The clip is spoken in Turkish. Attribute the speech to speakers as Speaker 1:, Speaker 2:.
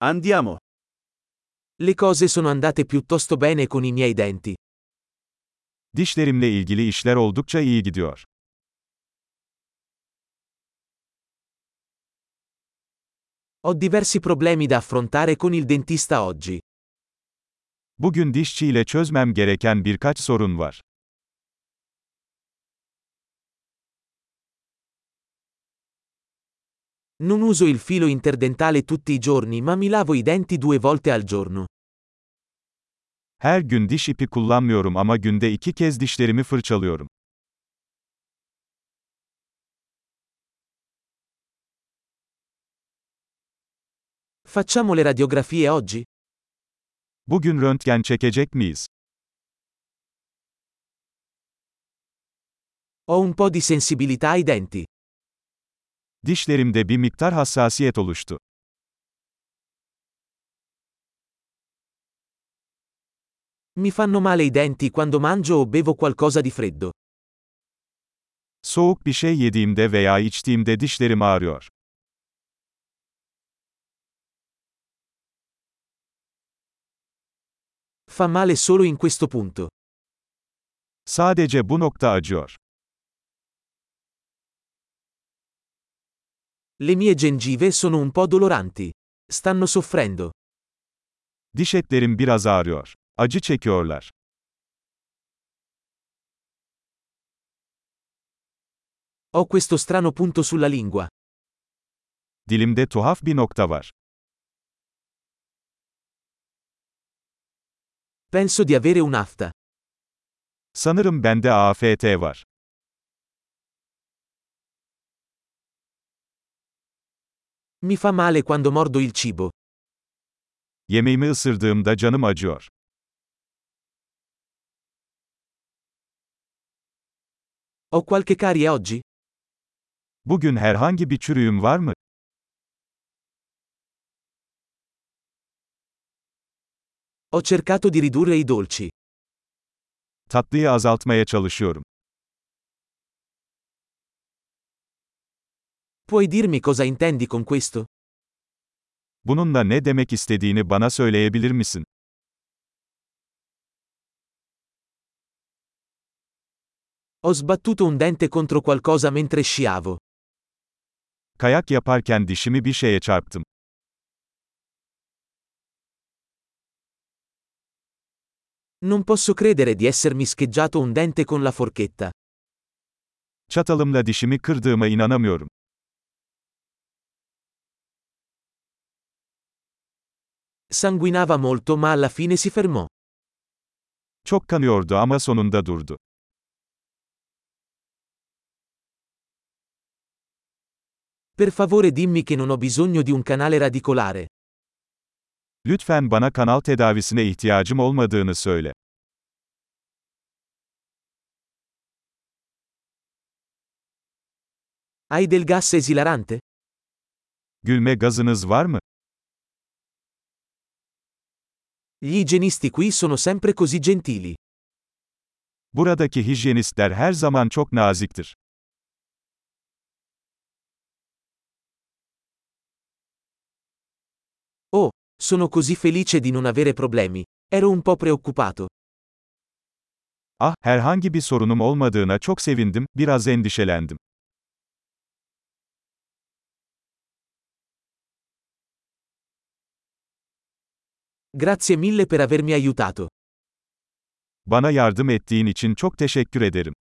Speaker 1: Andiamo.
Speaker 2: Le cose sono andate piuttosto bene con i miei denti.
Speaker 3: Dişlerimle ilgili işler oldukça iyi gidiyor.
Speaker 2: Ho diversi problemi da affrontare con il dentista oggi.
Speaker 3: Bugün dişçiyle çözmem gereken birkaç sorun var.
Speaker 2: Non uso il filo interdentale tutti i giorni, ma mi lavo i denti 2 volte al giorno.
Speaker 3: Her gün diş ipi kullanmıyorum ama günde 2 kez dişlerimi fırçalıyorum.
Speaker 2: Facciamo le radiografie oggi?
Speaker 3: Bugün röntgen çekecek miyiz?
Speaker 2: Ho un po' di sensibilità ai denti.
Speaker 3: Dişlerimde bir miktar hassasiyet oluştu.
Speaker 2: Mi fanno male i denti quando mangio o bevo qualcosa di freddo.
Speaker 3: Soğuk bir şey yediğimde veya içtiğimde dişlerim ağrıyor.
Speaker 2: Fa male solo in questo punto.
Speaker 3: Sadece bu nokta acıyor.
Speaker 2: Le mie gengive sono un po' doloranti. Stanno soffrendo.
Speaker 3: Diş etlerim biraz ağrıyor. Acı çekiyorlar.
Speaker 2: Ho questo strano punto sulla lingua.
Speaker 3: Dilimde tuhaf bir nokta var.
Speaker 2: Penso di avere un'afta.
Speaker 3: Sanırım bende AFT var.
Speaker 2: Mi fa male quando mordo il cibo.
Speaker 3: Yemeğimi ısırdığımda canım acıyor.
Speaker 2: Ho qualche carie oggi?
Speaker 3: Bugün herhangi bir çürüğüm var mı?
Speaker 2: Ho cercato di ridurre i dolci.
Speaker 3: Tatlıyı azaltmaya çalışıyorum.
Speaker 2: Puoi dirmi cosa intendi con questo?
Speaker 3: Bununla ne demek istediğini bana söyleyebilir misin?
Speaker 2: Ho sbattuto un dente contro qualcosa mentre sciavo.
Speaker 3: Kayak yaparken dişimi bir şeye çarptım.
Speaker 2: Non posso credere di essermi scheggiato un dente con la forchetta.
Speaker 3: Çatalımla dişimi kırdığıma inanamıyorum.
Speaker 2: Sanguinava molto ma alla fine si fermò.
Speaker 3: Çok kanıyordu ama sonunda durdu.
Speaker 2: Per favore dimmi che non ho bisogno di un canale radicolare.
Speaker 3: Lütfen bana kanal tedavisine ihtiyacım olmadığını söyle.
Speaker 2: Hai del gas esilarante?
Speaker 3: Gülme gazınız var mı?
Speaker 2: Gli igienisti qui sono sempre così gentili.
Speaker 3: Buradaki hijyenistler her zaman çok naziktir.
Speaker 2: Oh, sono così felice di non avere problemi. Ero un po' preoccupato.
Speaker 3: Ah, herhangi bir sorunum olmadığına çok sevindim, biraz endişelendim.
Speaker 2: Grazie mille per avermi aiutato.
Speaker 3: Bana yardım ettiğin için çok teşekkür ederim.